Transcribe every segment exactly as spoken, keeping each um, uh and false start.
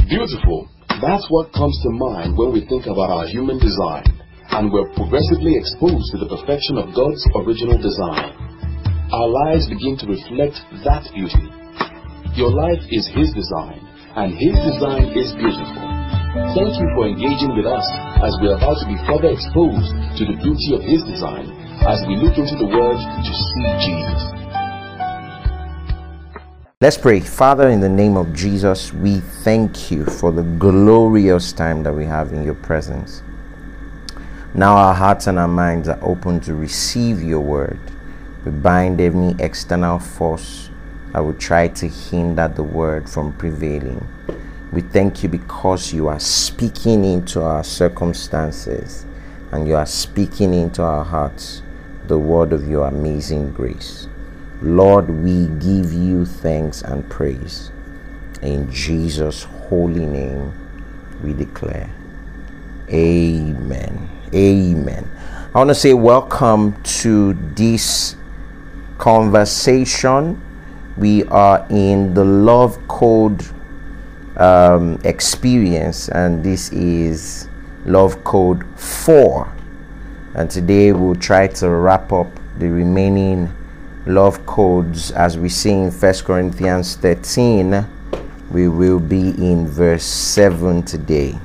Beautiful. That's what comes to mind when we think about our human design, and we're progressively exposed to the perfection of God's original design. Our lives begin to reflect that beauty. Your life is His design, and His design is beautiful. Thank you for engaging with us as we are about to be further exposed to the beauty of His design as we look into the Word to see Jesus. Let's pray. Father, in the name of Jesus, we thank you for the glorious time that we have in your presence. Now our hearts and our minds are open to receive your word. We bind any external force that would try to hinder the word from prevailing. We thank you because you are speaking into our circumstances and you are speaking into our hearts the word of your amazing grace. Lord, we give you thanks and praise. In Jesus' holy name we declare. Amen. Amen. I want to say welcome to this conversation. We are in the Love Code um, experience, and this is Love Code four. And today we'll try to wrap up the remaining love codes. As we see in First Corinthians thirteen, we will be in verse seven today.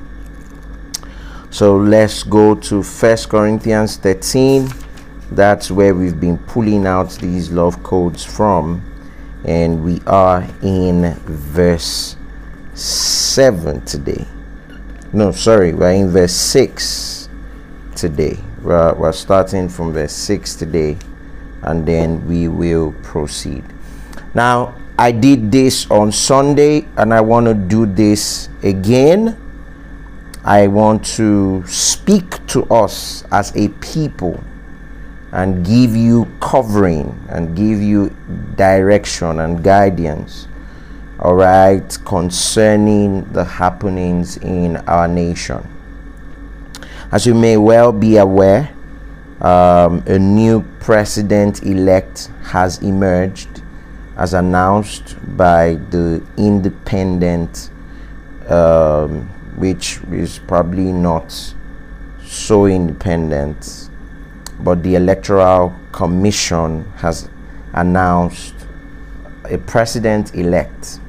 So let's go to First Corinthians thirteen. That's where we've been pulling out these love codes from, and we are in verse seven today. No, sorry, we're in verse six today. We're, we're starting from verse six today, and then we will proceed. Now, I did this on Sunday, and I want to do this again. I want to speak to us as a people and give you covering and give you direction and guidance, all right, concerning the happenings in our nation. As you may well be aware, um, a new president-elect has emerged, as announced by the independent um, which is probably not so independent, but the Electoral Commission has announced a president-elect.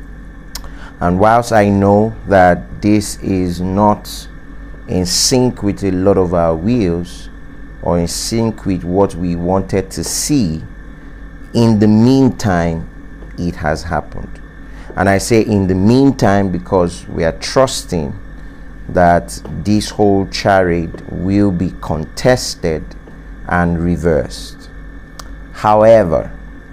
And whilst I know that this is not in sync with a lot of our wills or in sync with what we wanted to see, in the meantime it has happened. And I say in the meantime because we are trusting that this whole charade will be contested and reversed. However,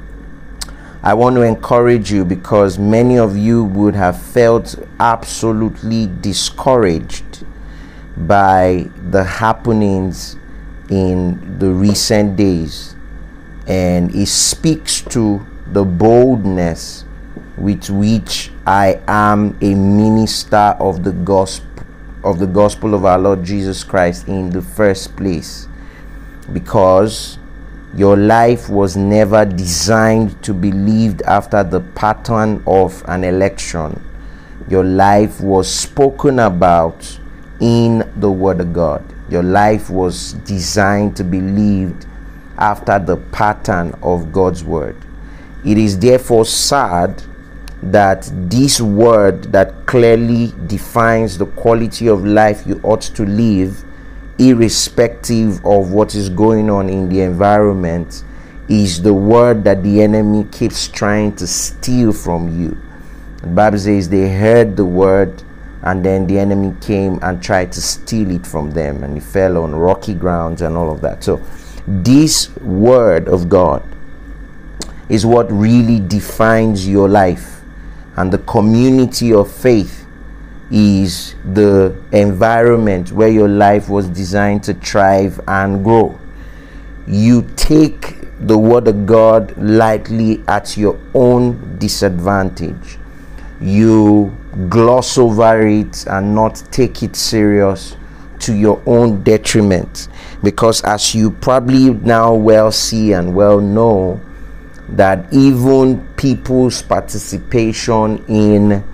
I want to encourage you, because many of you would have felt absolutely discouraged by the happenings in the recent days, and it speaks to the boldness with which I am a minister of the gospel of the gospel of our Lord Jesus Christ in the first place, because your life was never designed to be lived after the pattern of an election. Your life was spoken about in the Word of God. Your life was designed to be lived after the pattern of God's Word. It is therefore sad that this word that clearly defines the quality of life you ought to live, irrespective of what is going on in the environment, is the word that the enemy keeps trying to steal from you. The Bible says they heard the word, and then the enemy came and tried to steal it from them, and it fell on rocky grounds and all of that. So this word of God is what really defines your life. And the community of faith is the environment where your life was designed to thrive and grow. You take the word of God lightly at your own disadvantage. You gloss over it and not take it serious to your own detriment, because as you probably now well see and well know, that even people's participation in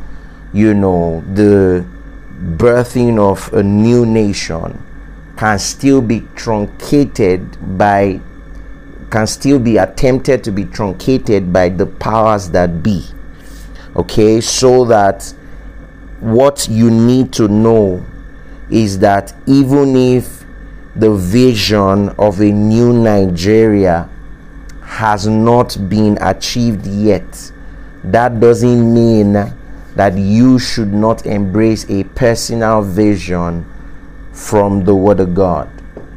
you know, the birthing of a new nation can still be truncated by, can still be attempted to be truncated by the powers that be. Okay, so that what you need to know is that even if the vision of a new Nigeria has not been achieved yet, that doesn't mean that you should not embrace a personal vision from the Word of God.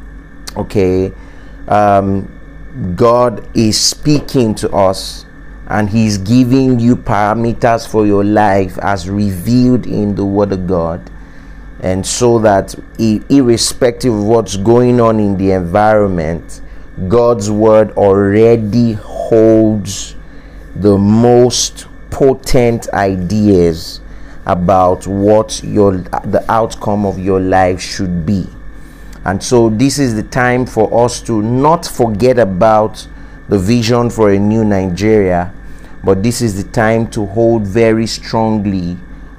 Okay, um, God is speaking to us, and He's giving you parameters for your life as revealed in the Word of God. And so that irrespective of what's going on in the environment, God's Word already holds the most potent ideas about what your the outcome of your life should be. And so this is the time for us to not forget about the vision for a new Nigeria, but this is the time to hold very strongly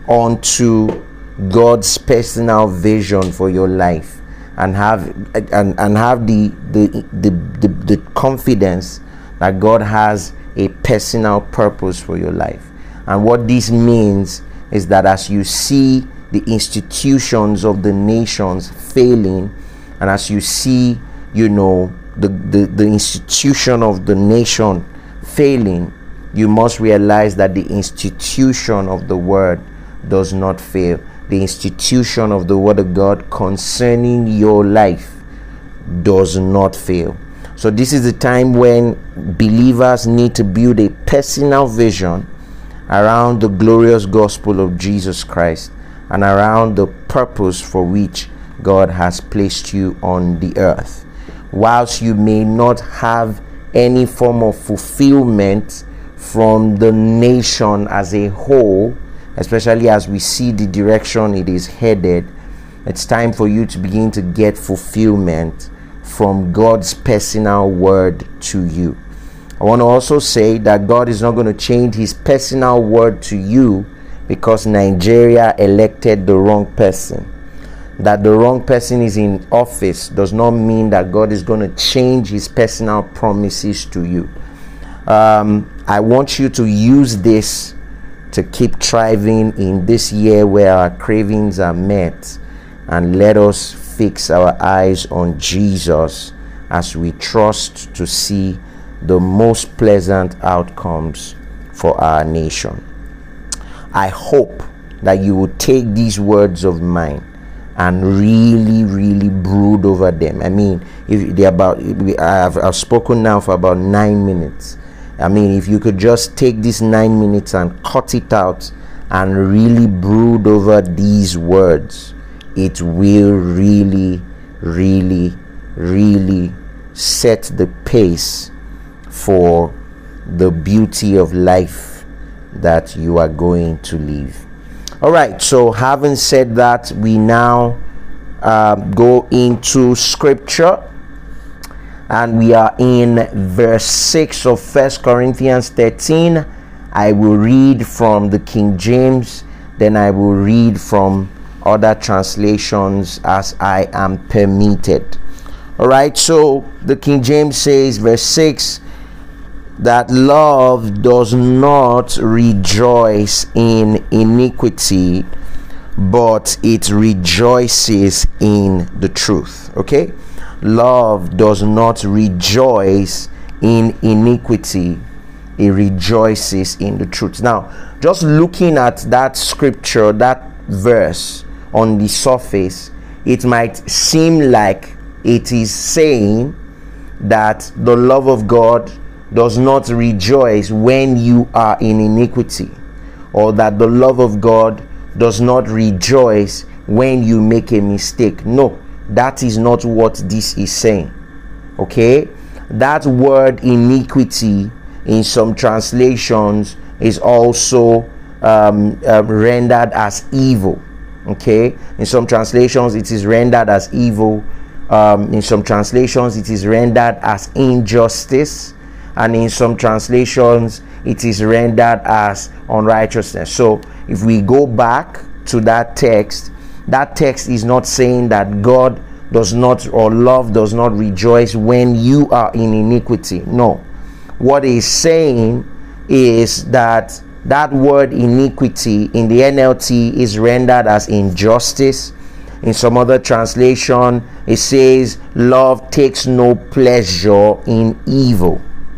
onto God's personal vision for your life, and have and, and have the the, the the the confidence that God has a personal purpose for your life. And what this means is that as you see the institutions of the nations failing, and as you see, you know, the, the, the institution of the nation failing, you must realize that the institution of the Word does not fail. The institution of the Word of God concerning your life does not fail. So this is the time when believers need to build a personal vision around the glorious gospel of Jesus Christ and around the purpose for which God has placed you on the earth. Whilst you may not have any form of fulfillment from the nation as a whole, especially as we see the direction it is headed, it's time for you to begin to get fulfillment from God's personal word to you. I want to also say that God is not going to change His personal word to you because Nigeria elected the wrong person. That the wrong person is in office does not mean that God is going to change His personal promises to you. Um, I want you to use this to keep thriving in this year where our cravings are met, and let us fix our eyes on Jesus as we trust to see the most pleasant outcomes for our nation. I hope that you will take these words of mine and really, really brood over them. I mean, if they're about, I've, I've spoken now for about nine minutes. I mean, if you could just take these nine minutes and cut it out and really brood over these words, it will really, really, really set the pace for the beauty of life that you are going to live. All right, so having said that, we now uh, go into scripture, and we are in verse six of First Corinthians thirteen. I will read from the King James, then I will read from other translations as I am permitted. All right, so the King James says, verse six, that love does not rejoice in iniquity, but it rejoices in the truth. Okay, love does not rejoice in iniquity, it rejoices in the truth. Now, just looking at that scripture, that verse on the surface, it might seem like it is saying that the love of God does not rejoice when you are in iniquity, or that the love of God does not rejoice when you make a mistake. No, that is not what this is saying. Okay, that word iniquity in some translations is also um, uh, rendered as evil. Okay, in some translations it is rendered as evil. Um, in some translations it is rendered as injustice, and in some translations it is rendered as unrighteousness. So if we go back to that text, that text is not saying that God does not, or love does not rejoice when you are in iniquity. No. What he's saying is that that word iniquity in the N L T is rendered as injustice. In some other translation, it says love takes no pleasure in evil.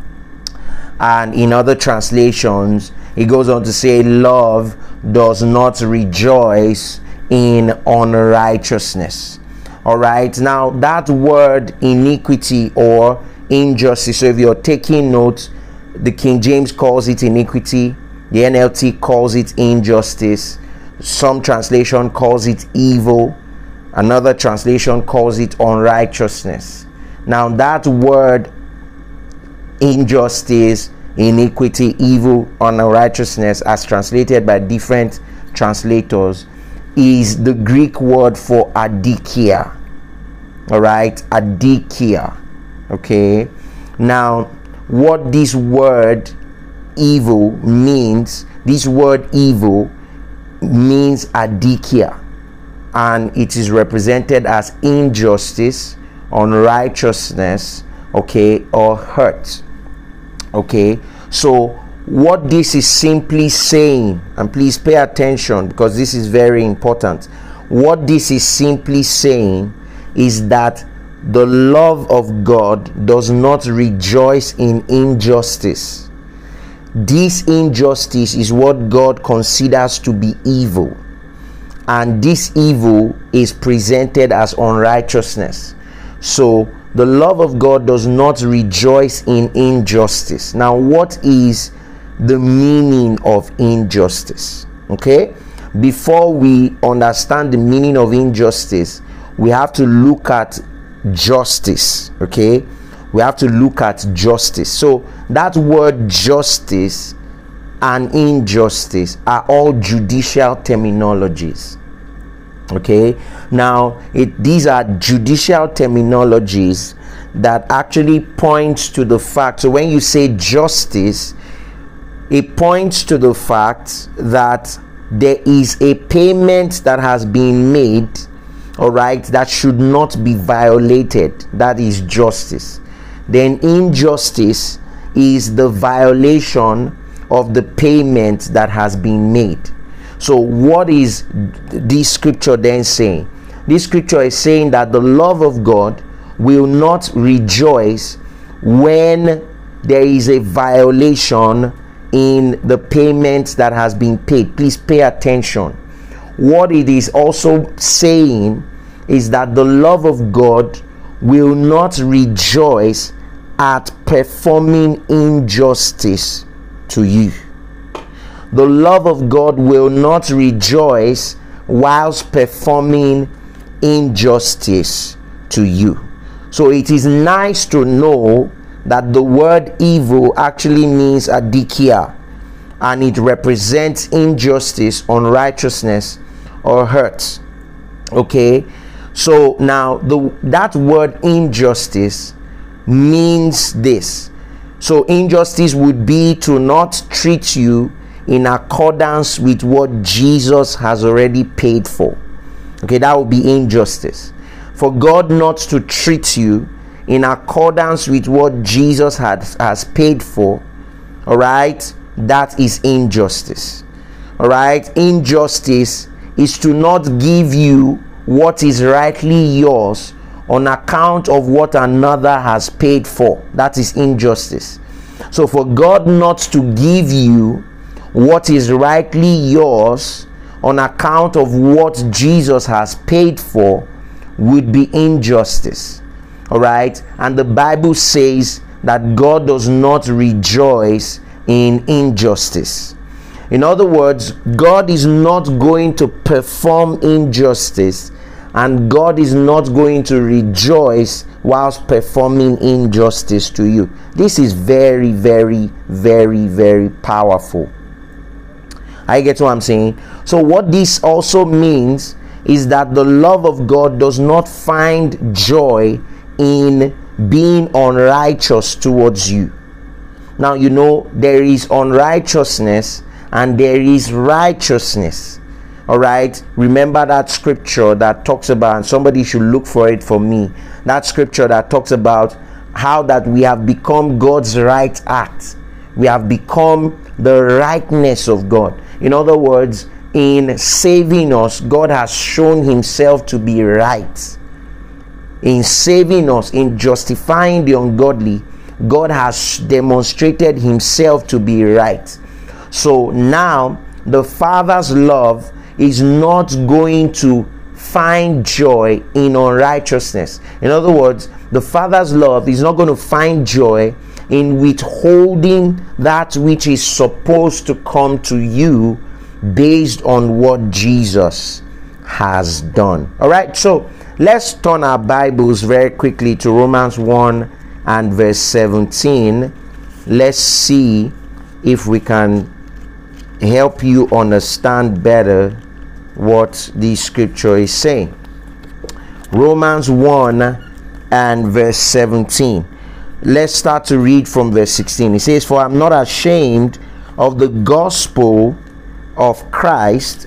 And in other translations, it goes on to say love does not rejoice in unrighteousness. All right, now that word iniquity or injustice, so if you're taking notes, the King James calls it iniquity, the N L T calls it injustice, some translation calls it evil, another translation calls it unrighteousness. Now that word injustice, iniquity, evil, unrighteousness, as translated by different translators, is the Greek word for adikia. All right, adikia. Okay, now what this word evil means, this word evil means adikia, and it is represented as injustice, unrighteousness, okay, or hurt. Okay, so what this is simply saying, and please pay attention because this is very important, what this is simply saying is that the love of God does not rejoice in injustice. This injustice is what God considers to be evil, and this evil is presented as unrighteousness. So the love of God does not rejoice in injustice. Now, what is the meaning of injustice? Okay, before we understand the meaning of injustice, we have to look at justice. Okay, we have to look at justice. So that word justice and injustice are all judicial terminologies. Okay, now it these are judicial terminologies that actually points to the fact. So when you say justice, it points to the fact that there is a payment that has been made, all right, that should not be violated. That is justice. Then injustice is the violation of the payment that has been made. So what is this scripture then saying? This scripture is saying that the love of God will not rejoice when there is a violation in the payment that has been paid. Please pay attention. What it is also saying is that the love of God will not rejoice at performing injustice to you. The love of God will not rejoice whilst performing injustice to you. So it is nice to know that the word evil actually means adikia, and it represents injustice, unrighteousness, or hurt. Okay, so now the that word injustice means this. So injustice would be to not treat you in accordance with what Jesus has already paid for. Okay, that would be injustice. For God not to treat you in accordance with what Jesus had, has paid for, all right, that is injustice. All right, injustice is to not give you what is rightly yours on account of what another has paid for. That is injustice. So for God not to give you what is rightly yours on account of what Jesus has paid for would be injustice. All right, and the Bible says that God does not rejoice in injustice. In other words, God is not going to perform injustice, and God is not going to rejoice whilst performing injustice to you. This is very, very, very, very powerful. I get what I'm saying. So what this also means is that the love of God does not find joy in being unrighteous towards you. Now, you know, there is unrighteousness and there is righteousness. All right, remember that scripture that talks about, and somebody should look for it for me, that scripture that talks about how that we have become God's right act. We have become the rightness of God. In other words, in saving us, God has shown himself to be right. In saving us, in justifying the ungodly, God has demonstrated himself to be right. So now the Father's love is not going to find joy in unrighteousness. In other words, the Father's love is not going to find joy in withholding that which is supposed to come to you based on what Jesus has done. All right, so let's turn our Bibles very quickly to Romans one and verse seventeen. Let's see if we can help you understand better what the scripture is saying. Romans one and verse seventeen. Let's start to read from verse sixteen. It says, "For I'm not ashamed of the gospel of Christ,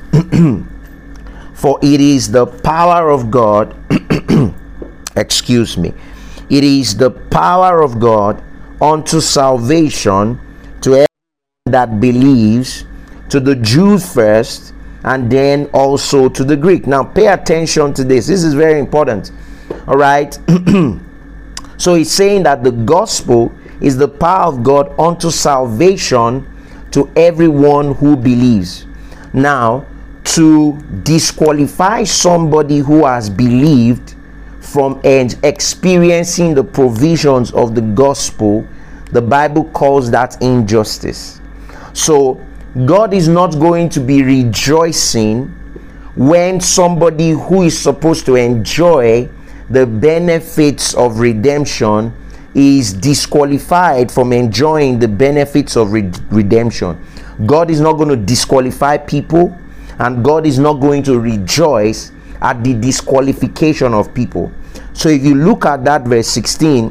for it is the power of God." Excuse me. "It is the power of God unto salvation to everyone that believes, to the Jew first, and then also to the Greek." Now pay attention to this. This is very important. All right. So he's saying that the gospel is the power of God unto salvation to everyone who believes. Now, to disqualify somebody who has believed from and experiencing the provisions of the gospel, the Bible calls that injustice. So God is not going to be rejoicing when somebody who is supposed to enjoy the benefits of redemption is disqualified from enjoying the benefits of re- redemption. God is not going to disqualify people, and God is not going to rejoice at the disqualification of people. So if you look at that verse sixteen,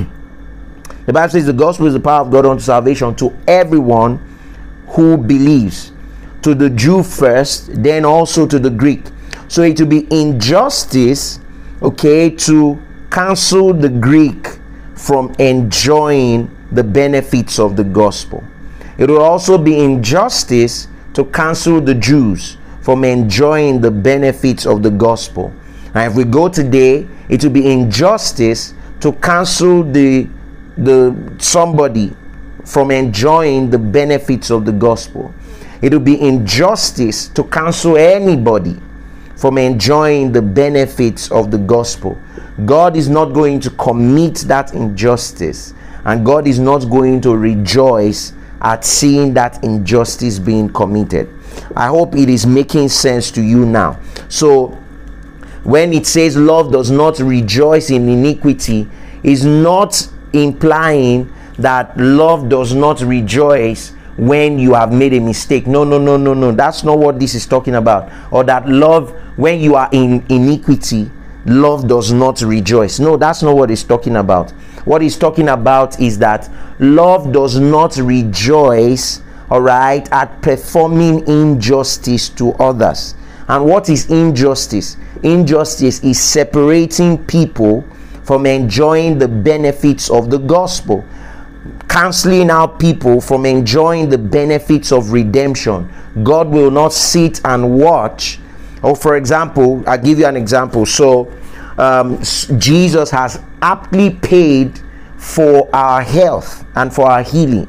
the Bible says the gospel is the power of God unto salvation to everyone who believes, to the Jew first, then also to the Greek. So it will be injustice, okay, to cancel the Greek from enjoying the benefits of the gospel. It will also be injustice to cancel the Jews from enjoying the benefits of the gospel. And if we go today, it will be injustice to cancel the the somebody from enjoying the benefits of the gospel. It will be injustice to cancel anybody from enjoying the benefits of the gospel. God is not going to commit that injustice, and God is not going to rejoice at seeing that injustice being committed. I hope it is making sense to you now. So when it says love does not rejoice in iniquity, is not implying that love does not rejoice when you have made a mistake. No, no, no, no, no. That's not what this is talking about. Or that love, when you are in iniquity, love does not rejoice. No, that's not what he's talking about. What he's talking about is that love does not rejoice, all right, at performing injustice to others. And what is injustice? Injustice is separating people from enjoying the benefits of the gospel, canceling out people from enjoying the benefits of redemption. God will not sit and watch. Or for example, I'll give you an example. So um, Jesus has aptly paid for our health and for our healing.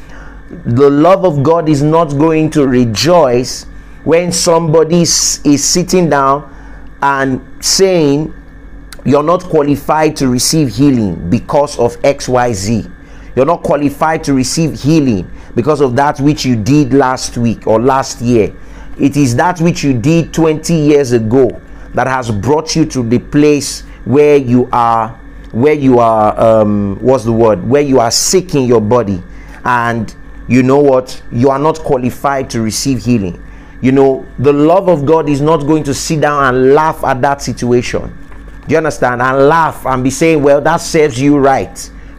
The love of God is not going to rejoice when somebody is sitting down and saying you're not qualified to receive healing because of X Y Z. You're not qualified to receive healing because of that which you did last week or last year. It is that which you did twenty years ago that has brought you to the place where you are, where you are, um, what's the word? Where you are sick in your body. And you know what? You are not qualified to receive healing. You know, the love of God is not going to sit down and laugh at that situation. Do you understand? And laugh and be saying, well, that serves you right.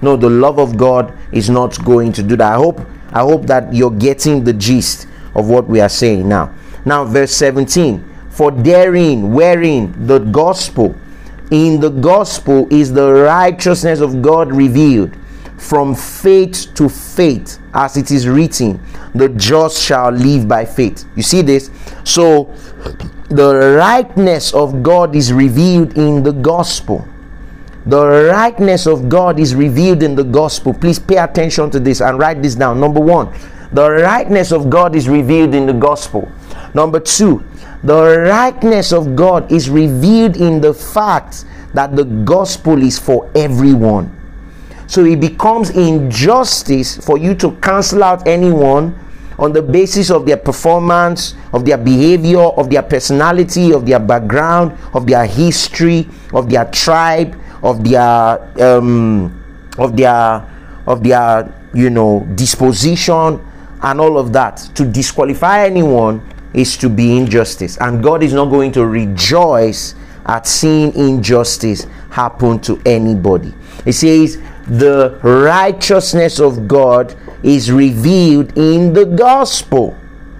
No, the love of God is not going to do that. I hope I hope that you're getting the gist of what we are saying now. Now, verse seventeen. For therein, wherein the gospel, in the gospel is the righteousness of God revealed, from faith to faith, as it is written, the just shall live by faith. You see this? So the rightness of God is revealed in the gospel. The rightness of God is revealed in the gospel. Please pay attention to this and write this down. Number one, the rightness of God is revealed in the gospel. Number two, the rightness of God is revealed in the fact that the gospel is for everyone. So it becomes injustice for you to cancel out anyone on the basis of their performance, of their behavior, of their personality, of their background, of their history, of their tribe, of their um of their of their you know disposition and all of that. To disqualify anyone is to be injustice, and God is not going to rejoice at seeing injustice happen to anybody. It says the righteousness of God is revealed in the gospel.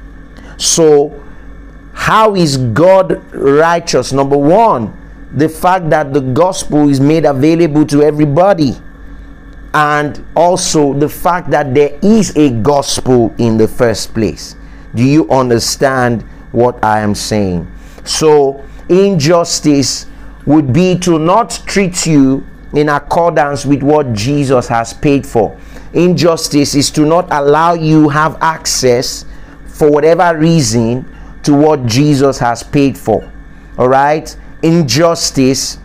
So how is God righteous? Number one, the fact that the gospel is made available to everybody, and also the fact that there is a gospel in the first place. Do you understand what I am saying? So injustice would be to not treat you in accordance with what Jesus has paid for. Injustice is to not allow you have access for whatever reason to what Jesus has paid for. All right? Injustice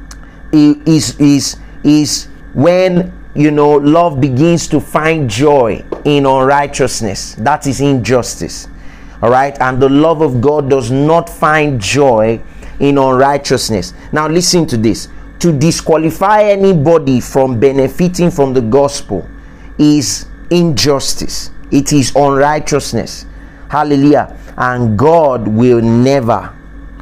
is is is when, you know, love begins to find joy in unrighteousness. That is injustice. All right? And the love of God does not find joy in unrighteousness. Now listen to this. To disqualify anybody from benefiting from the gospel is injustice. It is unrighteousness. Hallelujah. And God will never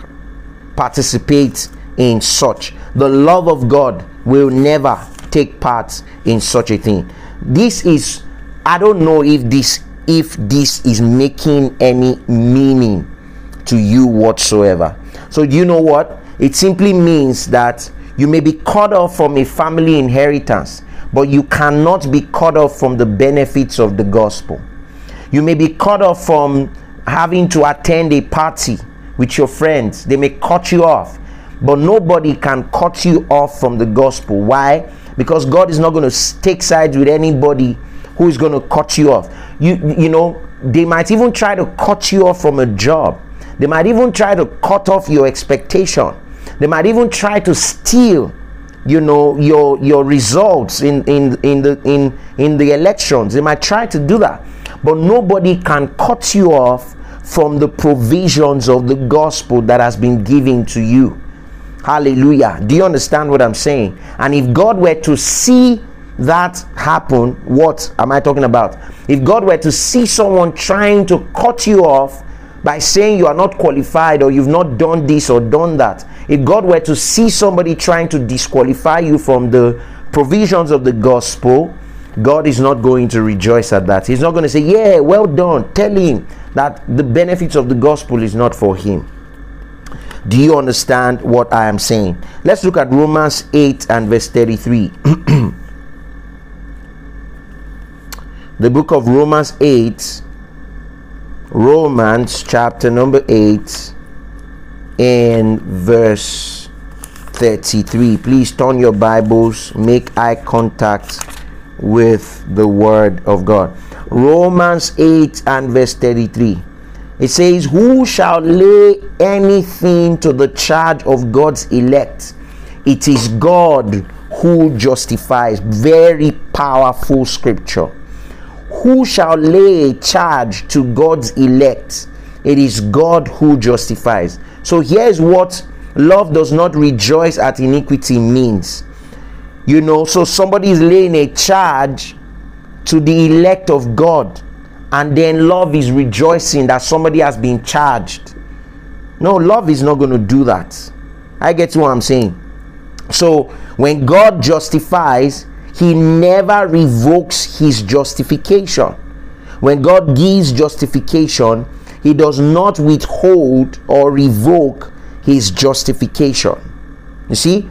participate in such. The love of God will never take part in such a thing. This is, I don't know if this if this is making any meaning to you whatsoever. So you know what? It simply means that you may be cut off from a family inheritance, but you cannot be cut off from the benefits of the gospel. You may be cut off from having to attend a party with your friends. They may cut you off, but nobody can cut you off from the gospel. Why? Because God is not going to take sides with anybody who is going to cut you off. You, you know, they might even try to cut you off from a job. They might even try to cut off your expectation. They might even try to steal, you know, your your results in in in the in in the elections. They might try to do that, but nobody can cut you off from the provisions of the gospel that has been given to you. Hallelujah. Do you understand what I'm saying? And if God were to see that happen, what am I talking about? If God were to see someone trying to cut you off by saying you are not qualified, or you've not done this or done that, if God were to see somebody trying to disqualify you from the provisions of the gospel, God is not going to rejoice at that. He's not going to say, yeah, well done. Tell him that the benefits of the gospel is not for him. Do you understand what I am saying? Let's look at Romans eight and verse thirty-three. The book of Romans eight, Romans chapter number eight and verse thirty-three. Please turn your Bibles, make eye contact with the word of God. Romans eight and verse thirty-three. It says, who shall lay anything to the charge of God's elect? It is God who justifies. Very powerful scripture. Who shall lay a charge to God's elect? It is God who justifies. So here's what love does not rejoice at iniquity means. You know, so somebody is laying a charge to the elect of God, and then love is rejoicing that somebody has been charged. No, love is not going to do that. I get what I'm saying. So when God justifies, he never revokes his justification. When God gives justification, he does not withhold or revoke his justification. You see,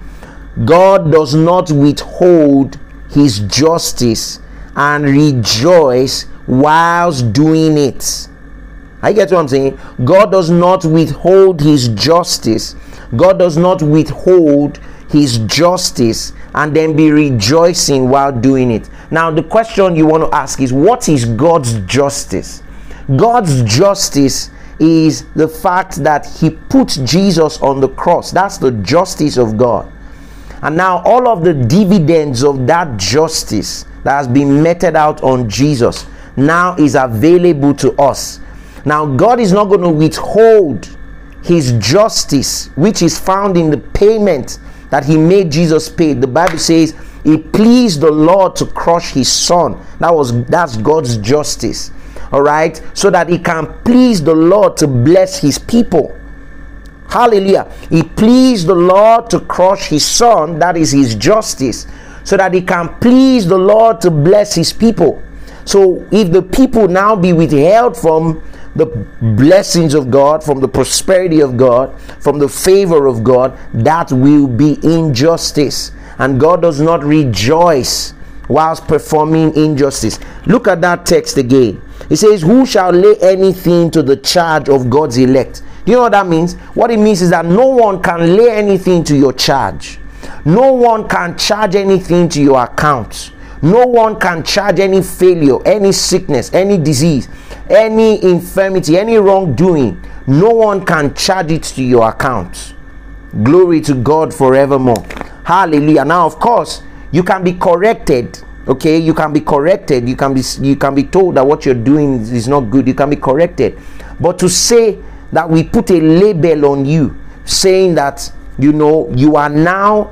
God does not withhold his justice and rejoice whilst doing it. I get what I'm saying. God does not withhold his justice. God does not withhold his justice and then be rejoicing while doing it. Now the question you want to ask is, what is God's justice? God's justice is the fact that he put Jesus on the cross. That's the justice of God. And now all of the dividends of that justice that has been meted out on Jesus now is available to us. Now God is not going to withhold his justice, which is found in the payment that he made Jesus pay. The Bible says it pleased the Lord to crush his son. That was that's God's justice. All right, so that he can please the Lord to bless his people. Hallelujah. He pleased the Lord to crush his son. That is his justice, so that he can please the Lord to bless his people. So if the people now be withheld from the blessings of God, from the prosperity of God, from the favor of God, that will be injustice. And God does not rejoice whilst performing injustice. Look at that text again. It says, who shall lay anything to the charge of God's elect? Do you know what that means? What it means is that no one can lay anything to your charge. No one can charge anything to your account. No one can charge any failure, any sickness, any disease, any infirmity, any wrongdoing. No one can charge it to your account. Glory to God forevermore. Hallelujah. Now, of course, you can be corrected. Okay, you can be corrected. You can be you can be told that what you're doing is, is not good. You can be corrected. But to say that we put a label on you, saying that, you know, you are now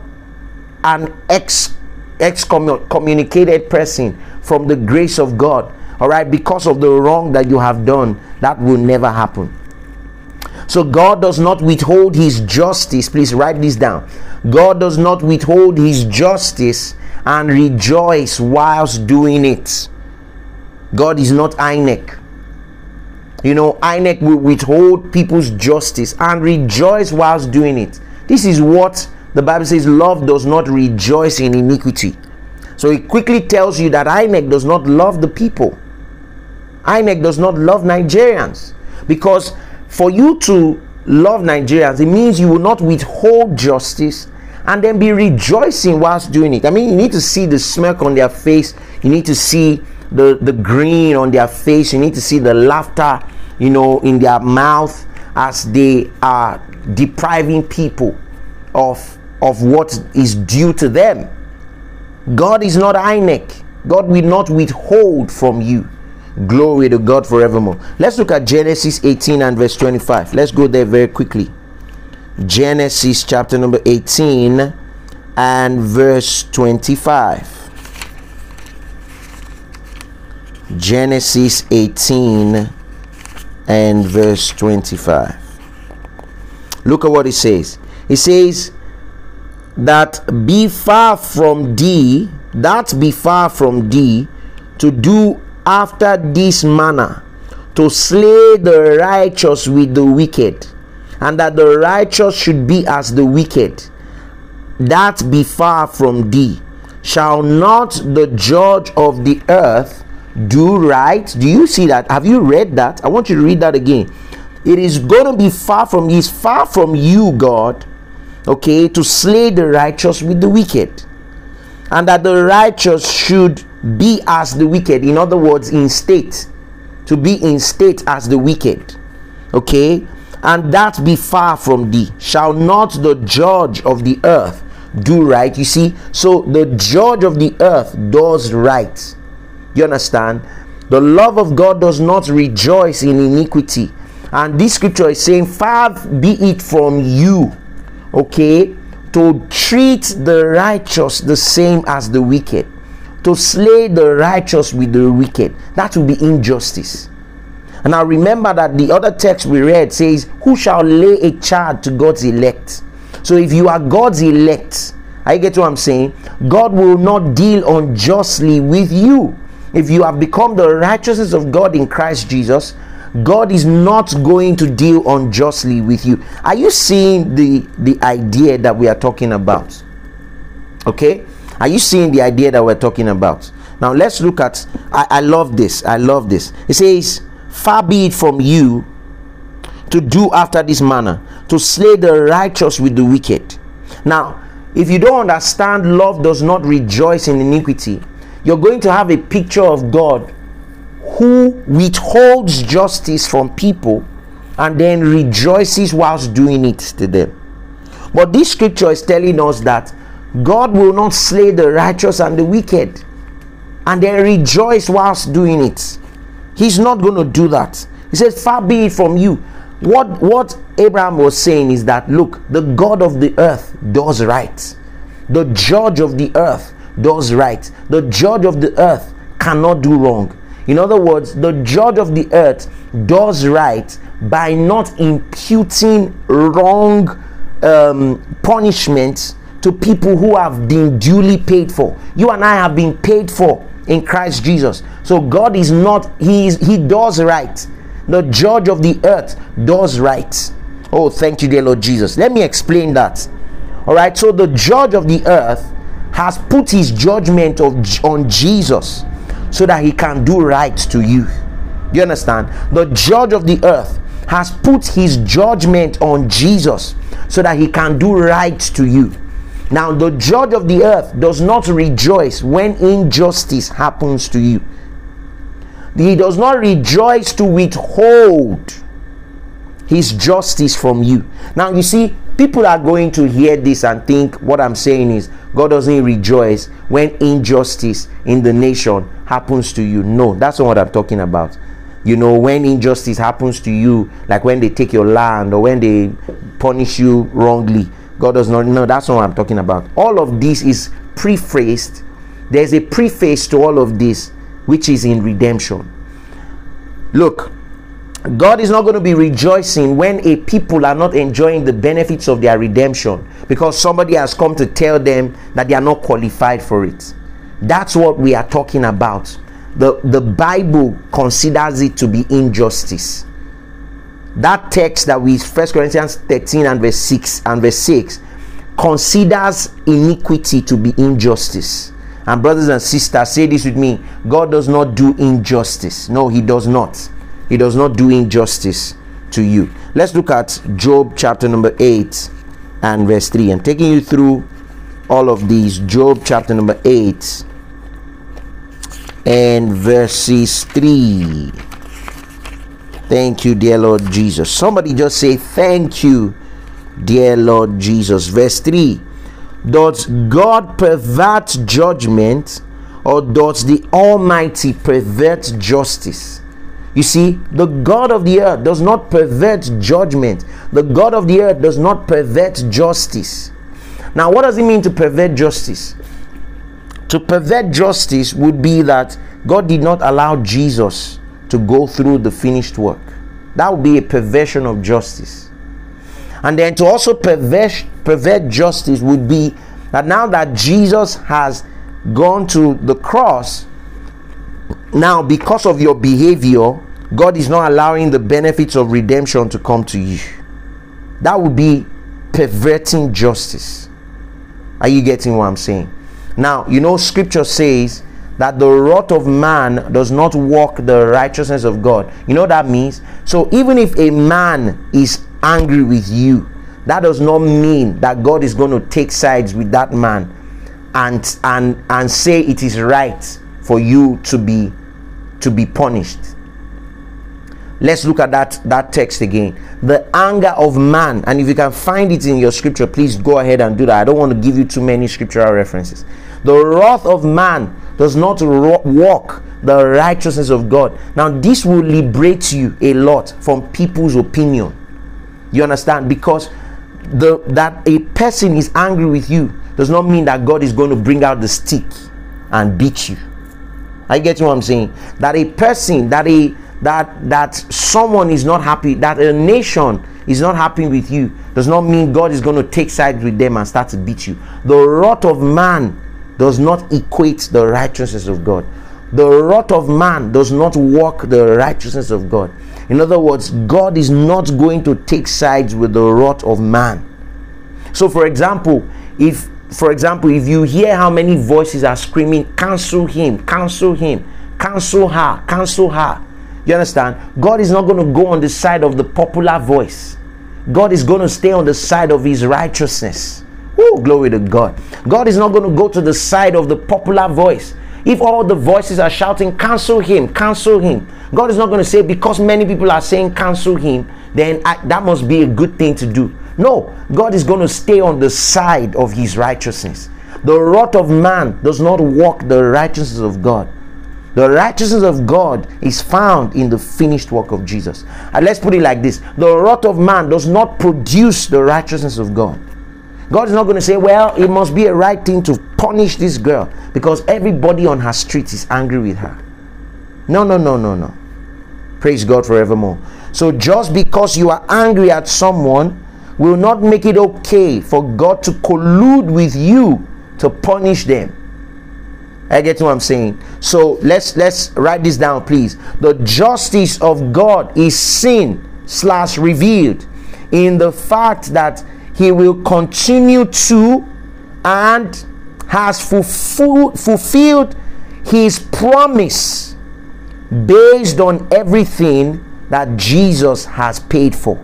an ex excommunicated person from the grace of God, all right, because of the wrong that you have done, that will never happen. So God does not withhold his justice. Please write this down. God does not withhold his justice and rejoice whilst doing it. God is not I N E C. You know, I N E C will withhold people's justice and rejoice whilst doing it. This is what the Bible says, love does not rejoice in iniquity. So it quickly tells you that I N E C does not love the people. I N E C does not love Nigerians. Because for you to love Nigerians, it means you will not withhold justice and then be rejoicing whilst doing it. I mean, you need to see the smirk on their face. You need to see the, the grin on their face. You need to see the laughter, you know, in their mouth as they are depriving people of, of what is due to them. God is not I N E C. God will not withhold from you. Glory to God forevermore. Let's look at Genesis eighteen and verse twenty-five. Let's go there very quickly. Genesis chapter number eighteen and verse twenty-five. Genesis eighteen and verse twenty-five. Look at what it says. It says that be far from thee, that be far from thee to do after this manner, to slay the righteous with the wicked, and that the righteous should be as the wicked. That be far from thee. Shall not the judge of the earth do right? Do you see that? Have you read that? I want you to read that again. It is going to be far from you. It's far from you, God, okay, to slay the righteous with the wicked, and that the righteous should be as the wicked. In other words, in state, to be in state as the wicked, okay, and that be far from thee. Shall not the judge of the earth do right? You see, so the judge of the earth does right. You understand? The love of God does not rejoice in iniquity, and this scripture is saying, far be it from you, okay, to treat the righteous the same as the wicked, to slay the righteous with the wicked. That will be injustice. And now remember that the other text we read says, who shall lay a charge to God's elect? So if you are God's elect I get what I'm saying. God will not deal unjustly with you. If you have become the righteousness of God in Christ Jesus, God is not going to deal unjustly with you. Are you seeing the the idea that we are talking about? Okay, are you seeing the idea that we're talking about? Now let's look at, I, I love this, I love this. It says, far be it from you to do after this manner, to slay the righteous with the wicked. Now, if you don't understand, love does not rejoice in iniquity, you're going to have a picture of God who withholds justice from people and then rejoices whilst doing it to them. But this scripture is telling us that God will not slay the righteous and the wicked and then rejoice whilst doing it. He's not going to do that. He says, far be it from you. What what Abraham was saying is that, look, the God of the earth does right. The judge of the earth does right. The judge of the earth cannot do wrong. In other words, the judge of the earth does right by not imputing wrong um, punishments to people who have been duly paid for. You and I have been paid for in Christ Jesus. So God is not, he is, he does right. The judge of the earth does right. Oh, thank you, dear Lord Jesus. Let me explain that. All right, so the judge of the earth has put his judgment of, on Jesus so that he can do right to you. You understand? The judge of the earth has put his judgment on Jesus so that he can do right to you. Now, the judge of the earth does not rejoice when injustice happens to you. He does not rejoice to withhold his justice from you. Now, you see, people are going to hear this and think what I'm saying is God doesn't rejoice when injustice in the nation happens to you. No, that's not what I'm talking about. You know, when injustice happens to you, like when they take your land or when they punish you wrongly, God does not. No, that's not what I'm talking about. All of this is prefaced. There's a preface to all of this, which is in redemption. Look, God is not going to be rejoicing when a people are not enjoying the benefits of their redemption because somebody has come to tell them that they are not qualified for it. That's what we are talking about. The, the Bible considers it to be injustice. That text that we, First Corinthians thirteen and verse six and verse six, considers iniquity to be injustice. And brothers and sisters, say this with me: God does not do injustice. No, he does not. He does not do injustice to you. Let's look at Job chapter number eight and verse three. I'm taking you through all of these. Job chapter number eight and verses three. Thank you, dear Lord Jesus. Somebody just say, thank you, dear Lord Jesus. Verse three. Does God pervert judgment, or does the Almighty pervert justice? You see, the God of the earth does not pervert judgment. The God of the earth does not pervert justice. Now, what does it mean to pervert justice? To pervert justice would be that God did not allow Jesus to go through the finished work. That would be a perversion of justice. And then to also pervert, pervert justice would be that now that Jesus has gone to the cross, now because of your behavior, God is not allowing the benefits of redemption to come to you. That would be perverting justice. Are you getting what I'm saying? Now, you know, scripture says that the wrath of man does not work the righteousness of God. You know what that means? So even if a man is angry with you, that does not mean that God is going to take sides with that man and and and say it is right for you to be to be punished. Let's look at that that text again. The anger of man, and if you can find it in your scripture, please go ahead and do that. I don't want to give you too many scriptural references. The wrath of man does not walk the righteousness of God. Now, this will liberate you a lot from people's opinion. You understand? Because the that a person is angry with you does not mean that God is going to bring out the stick and beat you. I get what I'm saying? That a person, that a that that someone is not happy, that a nation is not happy with you does not mean God is going to take sides with them and start to beat you. The wrath of man does not equate the righteousness of God. The wrath of man does not work the righteousness of God. In other words, God is not going to take sides with the wrath of man. So for example, if for example, if you hear how many voices are screaming, cancel him, cancel him, cancel her, cancel her. You understand? God is not going to go on the side of the popular voice. God is going to stay on the side of his righteousness. Oh, glory to God. God is not going to go to the side of the popular voice. If all the voices are shouting, cancel him, cancel him, God is not going to say, because many people are saying cancel him, then I, that must be a good thing to do. No, God is going to stay on the side of his righteousness. The wrath of man does not work the righteousness of God. The righteousness of God is found in the finished work of Jesus. And let's put it like this. The wrath of man does not produce the righteousness of God. God is not going to say, well, it must be a right thing to punish this girl because everybody on her street is angry with her. No, no, no, no, no. Praise God forevermore. So just because you are angry at someone will not make it okay for God to collude with you to punish them. I get what I'm saying. So let's let's write this down, please. The justice of God is seen slash revealed in the fact that he will continue to and has fulfilled, fulfilled his promise based on everything that Jesus has paid for.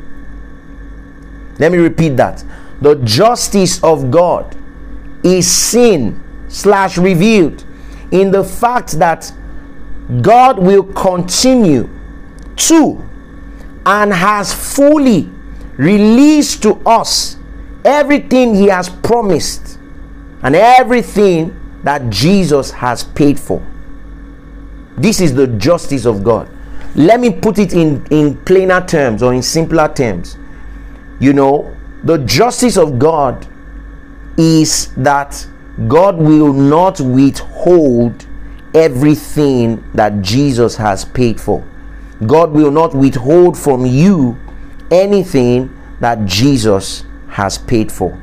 Let me repeat that. The justice of God is seen slash revealed in the fact that God will continue to and has fully released to us everything he has promised and everything that Jesus has paid for. This is the justice of God. Let me put it in, in plainer terms or in simpler terms. You know, the justice of God is that God will not withhold everything that Jesus has paid for. God will not withhold from you anything that Jesus has paid for.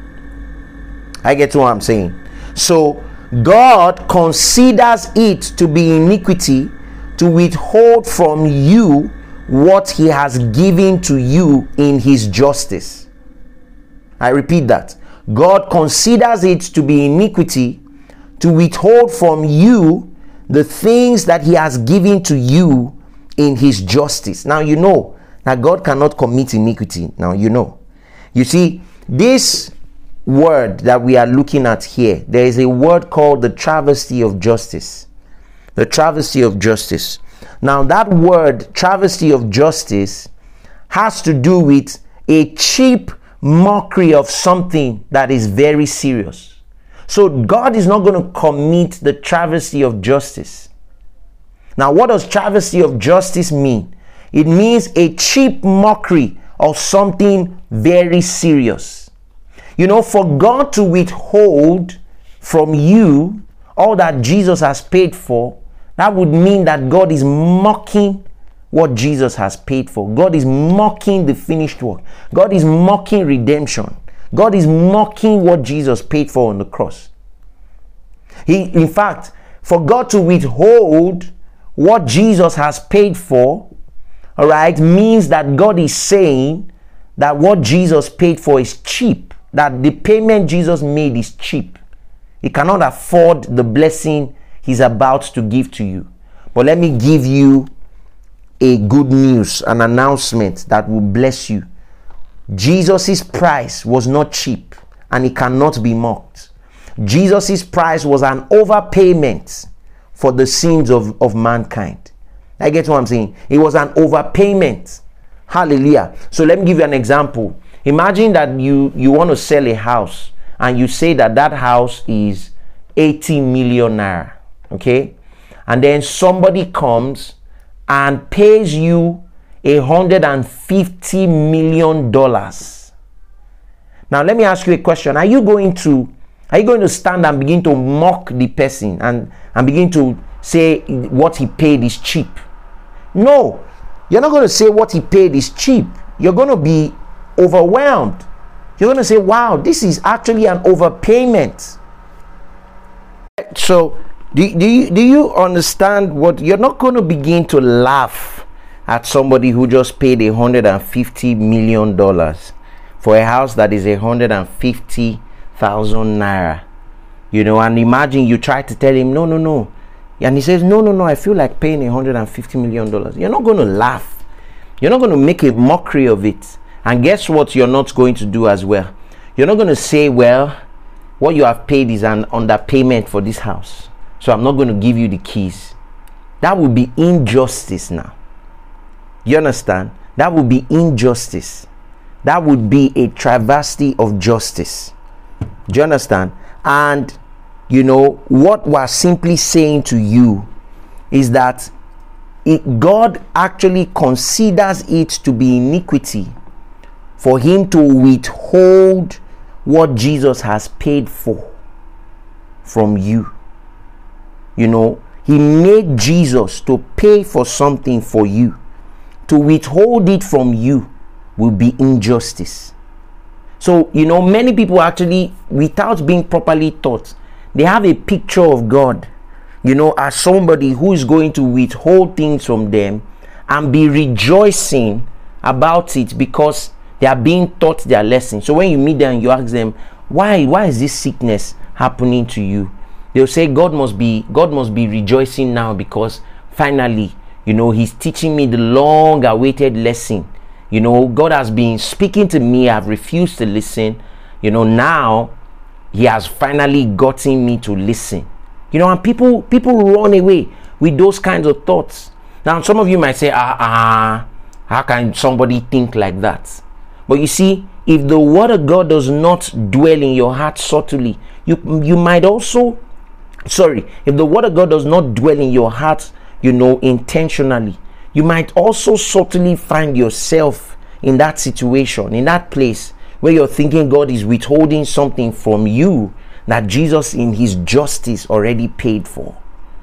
I get what I'm saying. So God considers it to be iniquity to withhold from you what he has given to you in his justice. I repeat that. God considers it to be iniquity to withhold from you the things that he has given to you in his justice. Now you know that God cannot commit iniquity. Now you know. You see, this word that we are looking at here, there is a word called the travesty of justice. The travesty of justice. Now that word, travesty of justice, has to do with a cheap mockery of something that is very serious. So God is not going to commit the travesty of justice. Now what does travesty of justice mean? It means a cheap mockery of something very serious. You know, for God to withhold from you all that Jesus has paid for, that would mean that God is mocking what Jesus has paid for. God is mocking the finished work. God is mocking redemption. God is mocking what Jesus paid for on the cross. He, in fact, for God to withhold what Jesus has paid for, all right, means that God is saying that what Jesus paid for is cheap. That the payment Jesus made is cheap. He cannot afford the blessing he's about to give to you. But let me give you a good news, an announcement that will bless you. Jesus's price was not cheap and it cannot be mocked. Jesus's price was an overpayment for the sins of, of mankind. I get what I'm saying. It was an overpayment. Hallelujah. So let me give you an example. Imagine that you, you want to sell a house and you say that that house is eighty million naira. Okay. And then somebody comes and pays you a hundred and fifty million dollars. Now let me ask you a question. Are you going to are you going to stand and begin to mock the person and, and begin to say what he paid is cheap? No, you're not going to say what he paid is cheap. you're going to be overwhelmed. You're going to say, wow, this is actually an overpayment. So do, do, you, do you understand what? You're not going to begin to laugh at somebody who just paid one hundred fifty million dollars for a house that is one hundred fifty thousand naira. You know, and imagine you try to tell him, no, no, no. And he says, no, no, no, I feel like paying one hundred fifty million dollars. You're not going to laugh. You're not going to make a mockery of it. And guess what you're not going to do as well? You're not going to say, well, what you have paid is an underpayment for this house, so I'm not going to give you the keys. That would be injustice now. You understand? That would be injustice. That would be a travesty of justice. Do you understand? And you know what we're simply saying to you is that it, God actually considers it to be iniquity for him to withhold what Jesus has paid for from you. You know, he made Jesus to pay for something for you. To withhold it from you will be injustice. So, you know, many people actually, without being properly taught, they have a picture of God, you know, as somebody who is going to withhold things from them and be rejoicing about it because they are being taught their lesson. So when you meet them, you ask them, why why is this sickness happening to you? They'll say, God must be God must be rejoicing now because finally, you know, he's teaching me the long awaited lesson. You know, God has been speaking to me. I've refused to listen. You know, now he has finally gotten me to listen. You know, and people people run away with those kinds of thoughts. Now, some of you might say, ah, ah, how can somebody think like that? But you see, if the word of God does not dwell in your heart subtly, you you might also, sorry, if the word of God does not dwell in your heart, you know, intentionally, you might also subtly find yourself in that situation, in that place where you're thinking God is withholding something from you that Jesus in his justice already paid for.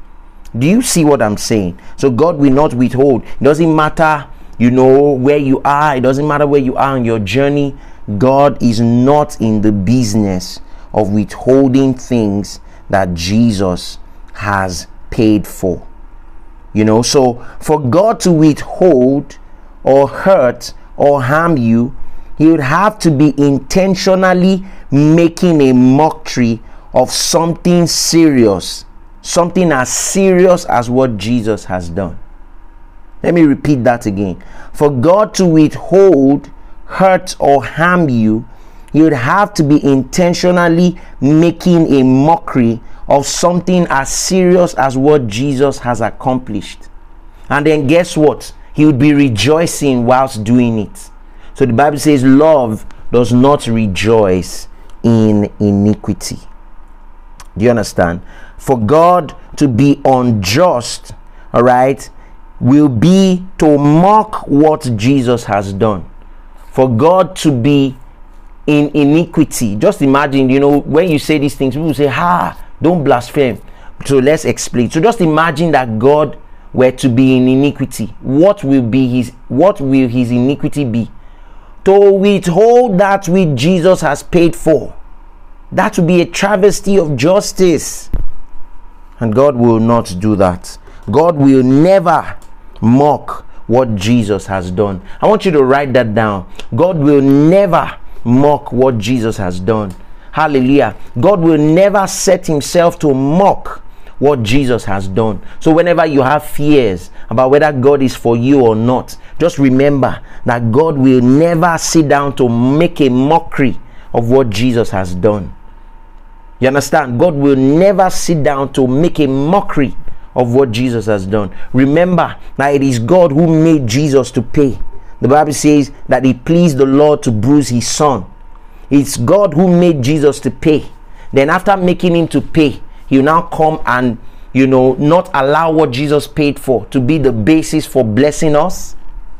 Do you see what I'm saying? So God will not withhold. It doesn't matter, you know, where you are. It doesn't matter where you are on your journey. God is not in the business of withholding things that Jesus has paid for. You know, so for God to withhold or hurt or harm you, he would have to be intentionally making a mockery of something serious, something as serious as what Jesus has done. Let me repeat that again. For God to withhold, hurt, or harm you, he would have to be intentionally making a mockery of something as serious as what Jesus has accomplished. And then guess what? He would be rejoicing whilst doing it. So the Bible says love does not rejoice in iniquity. Do you understand? For God to be unjust, all right, will be to mock what Jesus has done. For God to be in iniquity, just imagine, you know, when you say these things, people say, ha, don't blaspheme. So let's explain. So just imagine that God were to be in iniquity. What will be his what will his iniquity be? To withhold that which Jesus has paid for. That would be a travesty of justice. And God will not do that. God will never mock what Jesus has done. I want you to write that down. God will never mock what Jesus has done. Hallelujah. God will never set himself to mock what Jesus has done. So whenever you have fears about whether God is for you or not, just remember that God will never sit down to make a mockery of what Jesus has done. You understand? God will never sit down to make a mockery of what Jesus has done. Remember that it is God who made Jesus to pay. The Bible says that it pleased the Lord to bruise his son. It's God who made Jesus to pay. Then after making him to pay, he will now come and, you know, not allow what Jesus paid for to be the basis for blessing us.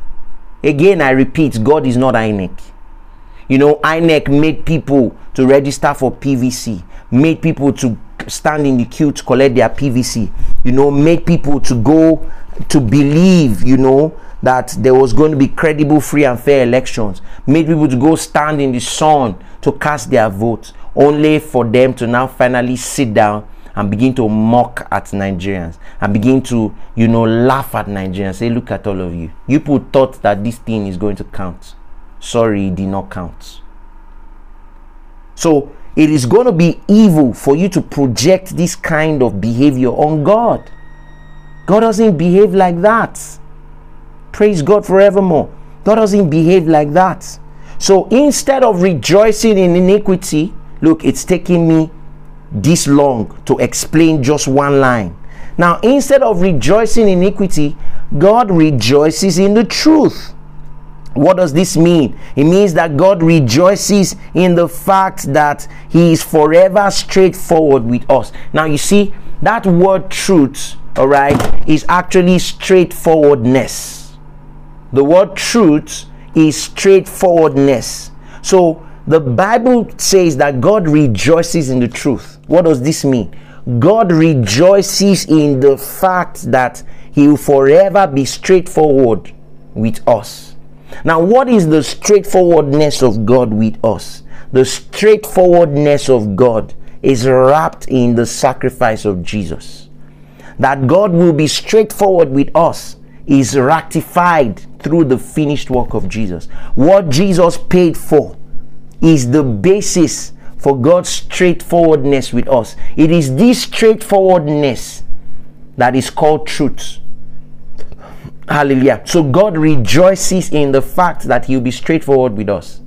Again, I repeat, God is not I N E C. You know, I N E C made people to register for P V C, made people to stand in the queue to collect their P V C, you know, made people to go to believe, you know, that there was going to be credible, free and fair elections, made people to go stand in the sun to cast their votes, only for them to now finally sit down and begin to mock at Nigerians and begin to, you know, laugh at Nigerians. Say, look at all of you. You people thought that this thing is going to count. Sorry, it did not count. So it is going to be evil for you to project this kind of behavior on God. God doesn't behave like that. Praise God forevermore. God doesn't behave like that. So instead of rejoicing in iniquity, look, it's taking me this long to explain just one line. Now, instead of rejoicing in iniquity, God rejoices in the truth. What does this mean? It means that God rejoices in the fact that He is forever straightforward with us. Now, you see, that word truth, all right, is actually straightforwardness. The word truth is straightforwardness. So the Bible says that God rejoices in the truth. What does this mean? God rejoices in the fact that He will forever be straightforward with us. Now, what is the straightforwardness of God with us? The straightforwardness of God is wrapped in the sacrifice of Jesus. That God will be straightforward with us is ratified through the finished work of Jesus. What Jesus paid for is the basis for God's straightforwardness with us. It is this straightforwardness that is called truth. Hallelujah. So God rejoices in the fact that He will be straightforward with us.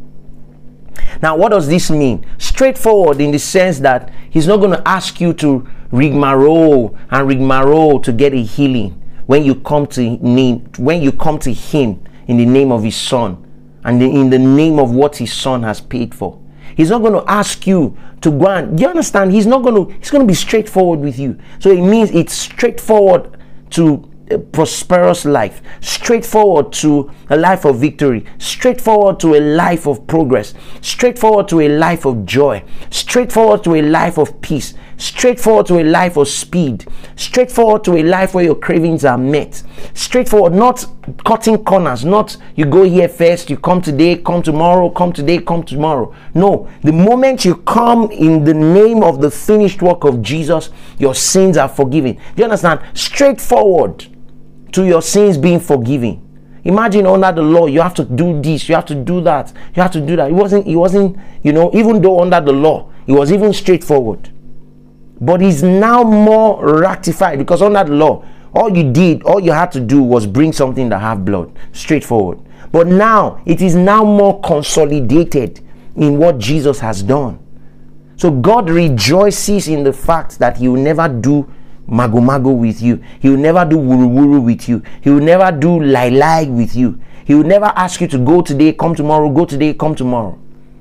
Now, what does this mean? Straightforward in the sense that He's not going to ask you to rigmarole and rigmarole to get a healing when you come to name when you come to Him in the name of His Son and in the name of what His Son has paid for. He's not going to ask you to go and, do you understand? He's not going to, He's going to be straightforward with you. So it means it's straightforward to a prosperous life, straightforward to a life of victory, straightforward to a life of progress, straightforward to a life of joy, straightforward to a life of peace, straightforward to a life of speed, straightforward to a life where your cravings are met, straightforward, not cutting corners, not you go here first, you come today, come tomorrow, come today, come tomorrow. No, the moment you come in the name of the finished work of Jesus, your sins are forgiven. Do you understand? Straightforward to your sins being forgiven. Imagine under the law, you have to do this, you have to do that, you have to do that. It wasn't, it wasn't, you know, even though under the law, it was even straightforward. But it's now more ratified because under the law, all you did, all you had to do was bring something that have blood, straightforward. But now, it is now more consolidated in what Jesus has done. So God rejoices in the fact that He will never do mago mago with you. He will never do wuru wuru with you. He will never do lie lie with you. He will never ask you to go today, come tomorrow, go today, come tomorrow.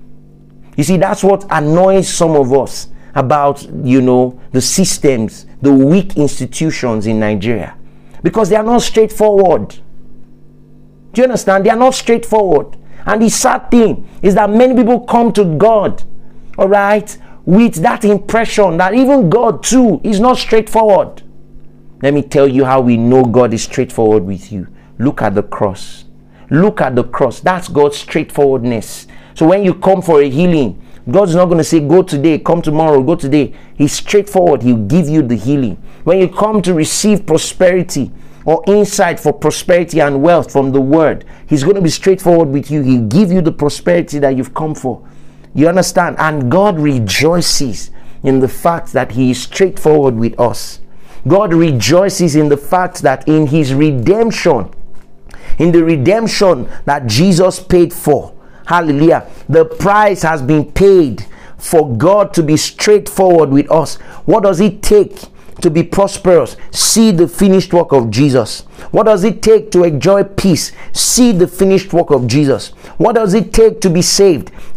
You see, that's what annoys some of us about, you know, the systems, the weak institutions in Nigeria, because they are not straightforward. Do you understand? They are not straightforward. And the sad thing is that many people come to God, all right, with that impression that even God too is not straightforward. Let me tell you how we know God is straightforward with you. Look at the cross. Look at the cross. That's God's straightforwardness. So when you come for a healing, God's not going to say, go today, come tomorrow, go today. He's straightforward. He'll give you the healing. When you come to receive prosperity or insight for prosperity and wealth from the word, He's going to be straightforward with you. He'll give you the prosperity that you've come for. You understand? And God rejoices in the fact that He is straightforward with us. God rejoices in the fact that in His redemption, in the redemption that Jesus paid for, hallelujah, the price has been paid for God to be straightforward with us. What does it take to be prosperous? See the finished work of Jesus. What does it take to enjoy peace? See the finished work of Jesus. What does it take to be saved?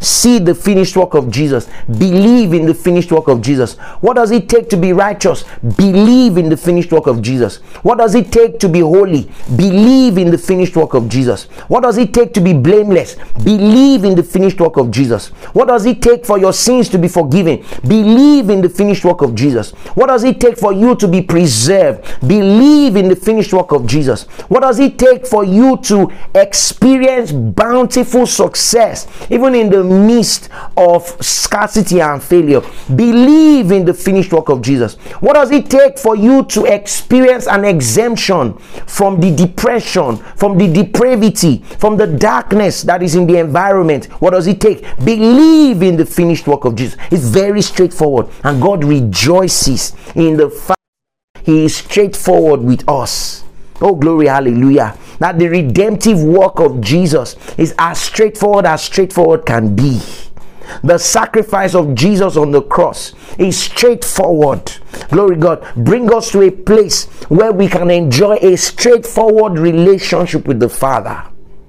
see the finished work of Jesus, believe in the finished work of Jesus. What does it take to be righteous? Believe in the finished work of Jesus. What does it take to be holy? Believe in the finished work of Jesus. What does it take to be blameless? Believe in the finished work of Jesus. What does it take for your sins to be forgiven? Believe in the finished work of Jesus. What does it take for you to be preserved? Believe in the finished work of Jesus. What does it take for you to experience bountiful success even in the midst of scarcity and failure? Believe in the finished work of Jesus. What does it take for you to experience an exemption from the depression, from the depravity, from the darkness that is in the environment? What does it take? Believe in the finished work of Jesus. It's very straightforward, and God rejoices in the fact He is straightforward with us. Oh, glory, hallelujah. That the redemptive work of Jesus is as straightforward as straightforward can be. The sacrifice of Jesus on the cross is straightforward. Glory God. Bring us to a place where we can enjoy a straightforward relationship with the Father.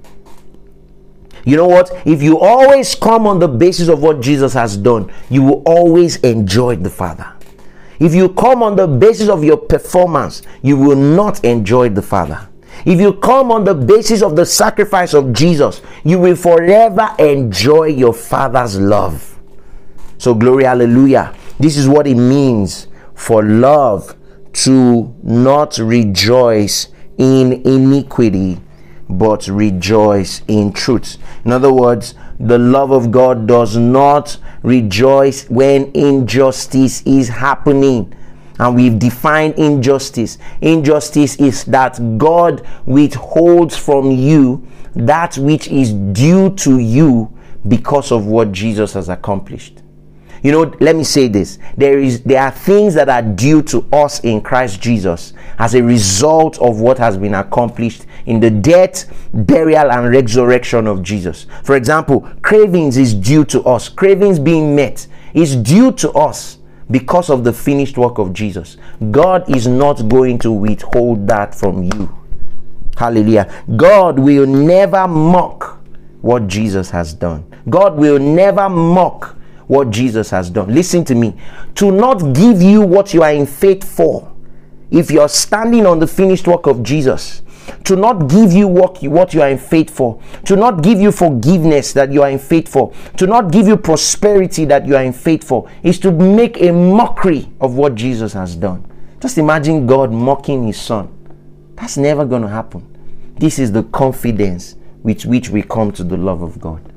You know what? If you always come on the basis of what Jesus has done, you will always enjoy the Father. If you come on the basis of your performance, you will not enjoy the Father. If you come on the basis of the sacrifice of Jesus, you will forever enjoy your Father's love. So glory, hallelujah. This is what it means for love to not rejoice in iniquity, but rejoice in truth. In other words, the love of God does not rejoice when injustice is happening. And we've defined injustice. Injustice is that God withholds from you that which is due to you because of what Jesus has accomplished. You know, let me say this. There is there are things that are due to us in Christ Jesus as a result of what has been accomplished in the death, burial, and resurrection of Jesus. For example, cravings is due to us. Cravings being met is due to us because of the finished work of Jesus. God is not going to withhold that from you. Hallelujah. God will never mock what Jesus has done. God will never mock what Jesus has done. Listen to me. To not give you what you are in faith for, if you're standing on the finished work of Jesus, to not give you what you, what you are in faith for, to not give you forgiveness that you are in faith for, to not give you prosperity that you are in faith for, is to make a mockery of what Jesus has done. Just imagine God mocking his son. That's never going to happen. This is the confidence with which we come to the love of God.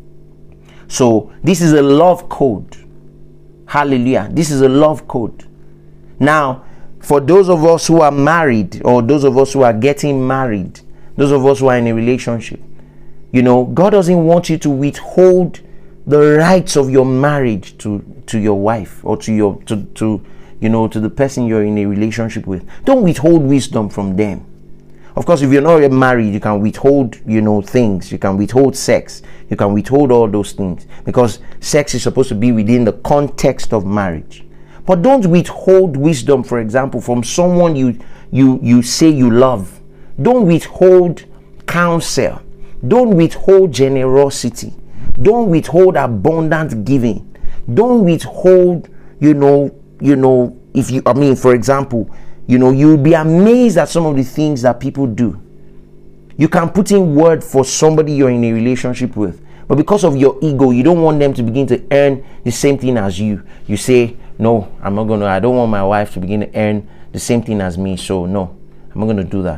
So this is a love code. Hallelujah. This is a love code. Now, for those of us who are married, or those of us who are getting married, those of us who are in a relationship, you know, God doesn't want you to withhold the rights of your marriage to, to your wife, or to your to, to you know to the person you're in a relationship with. Don't withhold wisdom from them. Of course, if you're not married, you can withhold, you know, things. You can withhold sex. You can withhold all those things, because sex is supposed to be within the context of marriage. But don't withhold wisdom, for example, from someone you you you say you love. Don't withhold counsel. Don't withhold generosity. Don't withhold abundant giving. Don't withhold, you know, you know, if you, I mean, for example, you know, you'll be amazed at some of the things that people do. You can put in word for somebody you're in a relationship with, but because of your ego, you don't want them to begin to earn the same thing as you. You say, no, I'm not going to, I don't want my wife to begin to earn the same thing as me, so no, I'm not going to do that.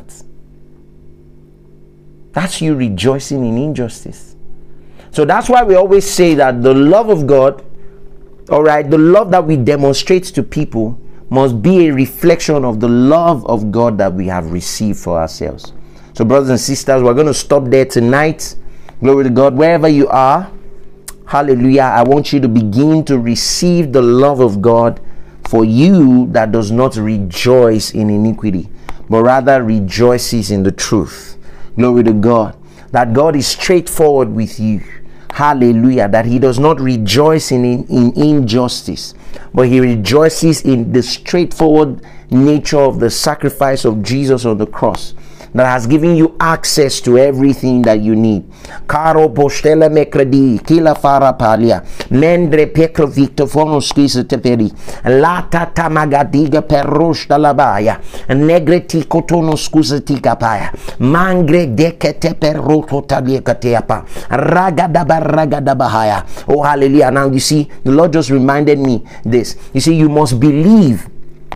That's you rejoicing in injustice. So that's why we always say that the love of God, all right, the love that we demonstrate to people must be a reflection of the love of God that we have received for ourselves. So brothers and sisters, we're going to stop there tonight. Glory to God. Wherever you are, hallelujah, I want you to begin to receive the love of God for you, that does not rejoice in iniquity, but rather rejoices in the truth. Glory to God. That God is straightforward with you. Hallelujah. That he does not rejoice in, in, in injustice, but he rejoices in the straightforward nature of the sacrifice of Jesus on the cross. that has given you access to everything that you need. Caro postele mekredi kila fara palia mendre pekro victor fono squeeze teperi lata tamagadiga perush dalabaya negreti kotono scusa tikapaya mangre dekete peroto tabiekateapa ragadaba ragadabahaya. Oh hallelujah. Now you see, the Lord just reminded me this. You see, you must believe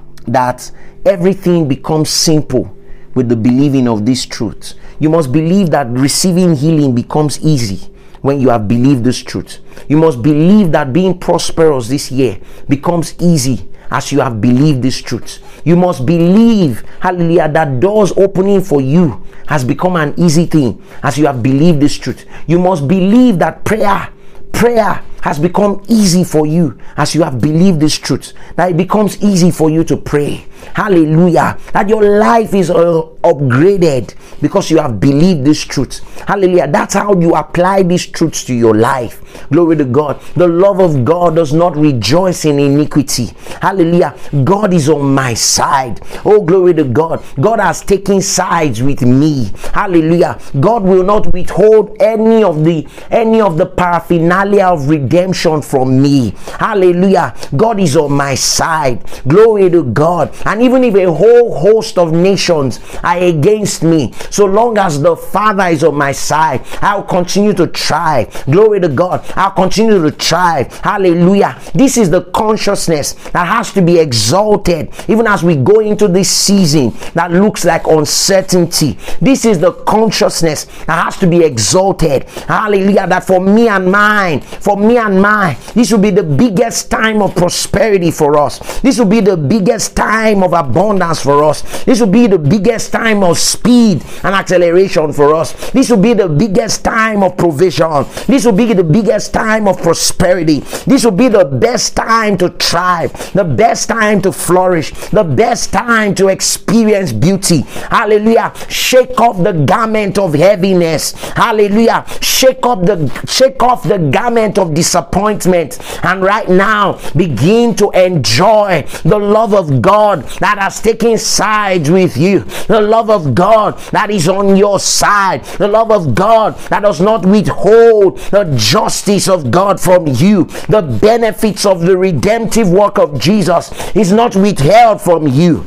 that everything becomes simple with the believing of this truth. You must believe that receiving healing becomes easy when you have believed this truth. You must believe that being prosperous this year becomes easy as you have believed this truth. You must believe, hallelujah, that doors opening for you has become an easy thing as you have believed this truth. You must believe that prayer prayer has become easy for you as you have believed this truth, that it becomes easy for you to pray. Hallelujah. That your life is uh, upgraded because you have believed this truth. Hallelujah. That's how you apply these truths to your life. Glory to God. The love of God does not rejoice in iniquity. Hallelujah. God is on my side. Oh, glory to God. God has taken sides with me. Hallelujah. God will not withhold any of the any of the paraphernalia of redemption from me. Hallelujah. God is on my side. Glory to God. And even if a whole host of nations are against me, so long as the Father is on my side, I'll continue to try. Glory to God. I'll continue to try. Hallelujah. This is the consciousness that has to be exalted even as we go into this season that looks like uncertainty. This is the consciousness that has to be exalted. Hallelujah. That for me and mine, for me and mine, this will be the biggest time of prosperity for us. This will be the biggest time of abundance for us. This will be the biggest time of speed and acceleration for us. This will be the biggest time of provision. This will be the biggest time of prosperity. This will be the best time to thrive, the best time to flourish, the best time to experience beauty. Hallelujah. Shake off the garment of heaviness. Hallelujah. Shake off the shake off the garment of disappointment, and right now begin to enjoy the love of God that has taken sides with you, the love of God that is on your side, the love of God that does not withhold the justice of God from you. The benefits of the redemptive work of Jesus is not withheld from you.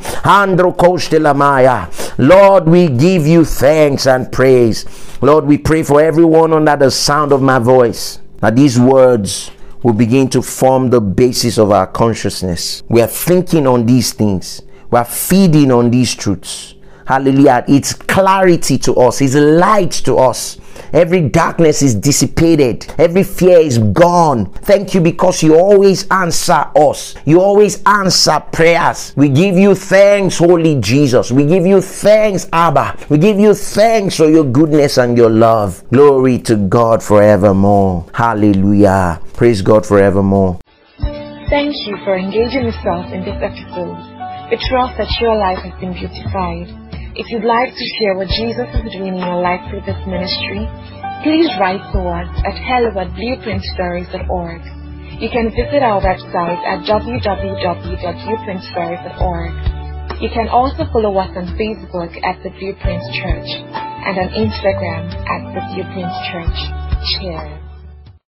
Lord, we give you thanks and praise. Lord, we pray for everyone under the sound of my voice, that these words will begin to form the basis of our consciousness. We are thinking on these things. We are feeding on these truths. Hallelujah. It's clarity to us. It's light to us. Every darkness is dissipated. Every fear is gone. Thank you because you always answer us. You always answer prayers. We give you thanks, Holy Jesus. We give you thanks, Abba. We give you thanks for your goodness and your love. Glory to God forevermore. Hallelujah. Praise God forevermore. Thank you for engaging yourself in this episode. We trust that your life has been beautified. If you'd like to share what Jesus is doing in your life through this ministry, please write to us at hello at blueprint stories dot org. You can visit our website at w w w dot blueprint stories dot org. You can also follow us on Facebook at The Blueprint Church and on Instagram at The Blueprint Church. Cheers.